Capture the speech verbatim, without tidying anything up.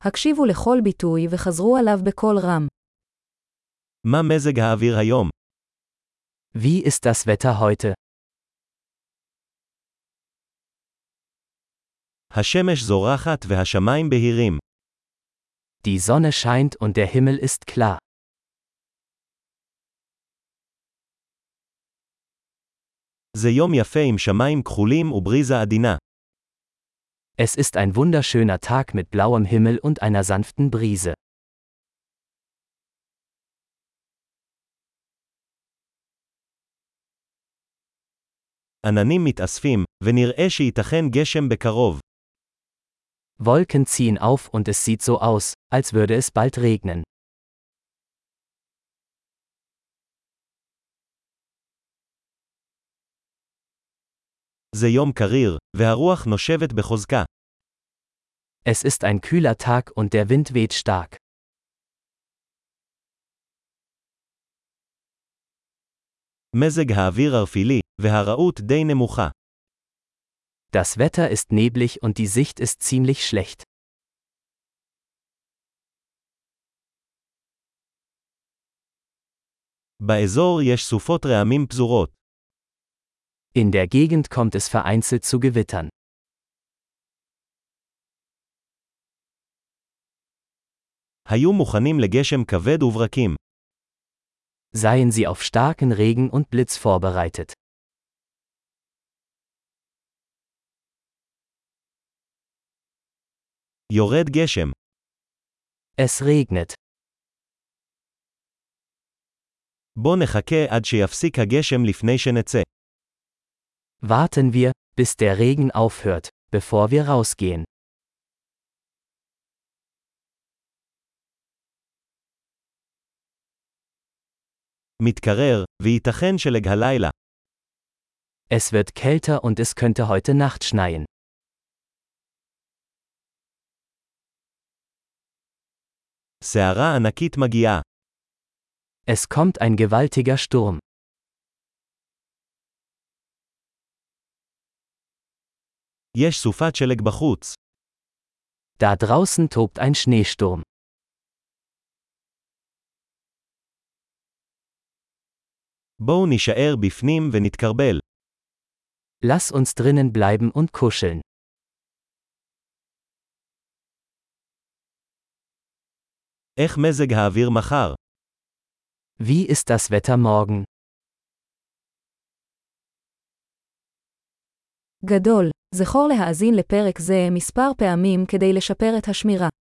הקשיבו לכל ביטוי וחזרו עליו בקול רם. מה מזג האוויר היום? Wie ist das Wetter heute? השמש זורחת והשמיים בהירים. Die Sonne scheint und der Himmel ist klar. זה יום יפה עם שמיים כחולים ובריזה עדינה. Es ist ein wunderschöner Tag mit blauem Himmel und einer sanften Brise. עננים מתאספים, ונראה שייתכן גשם בקרוב. Wolken ziehen auf und es sieht so aus, als würde es bald regnen. זה יום קריר, והרוח נושבת בחוזקה. Es ist ein kühler Tag und der Wind weht stark. מזג האוויר ערפילי, והראות די נמוכה. Das Wetter ist neblig und die Sicht ist ziemlich schlecht. באזור יש סופות רעמים פזורות. In der Gegend kommt es vereinzelt zu Gewittern. היו מוכנים לגשם כבד וברקים. Seien Sie auf starken Regen und Blitz vorbereitet. יורד גשם. Es regnet. בוא נחכה עד שיפסיק הגשם לפני שנצא. Warten wir, bis der Regen aufhört, bevor wir rausgehen. מתקרר, וייתכן שלג הלילה. Es wird kälter und es könnte heute Nacht schneien. סערה ענקית מגיעה. Es kommt ein gewaltiger Sturm. יש סופת שלג בחוץ. Da draußen tobt ein Schneesturm. בואו נישאר בפנים ונתקרבל. Lass uns drinnen bleiben und kuscheln. איך מזג האוויר מחר? Wie ist das Wetter morgen? גדול, זכור להאזין לפרק זה מספר פעמים כדי לשפר את השמירה.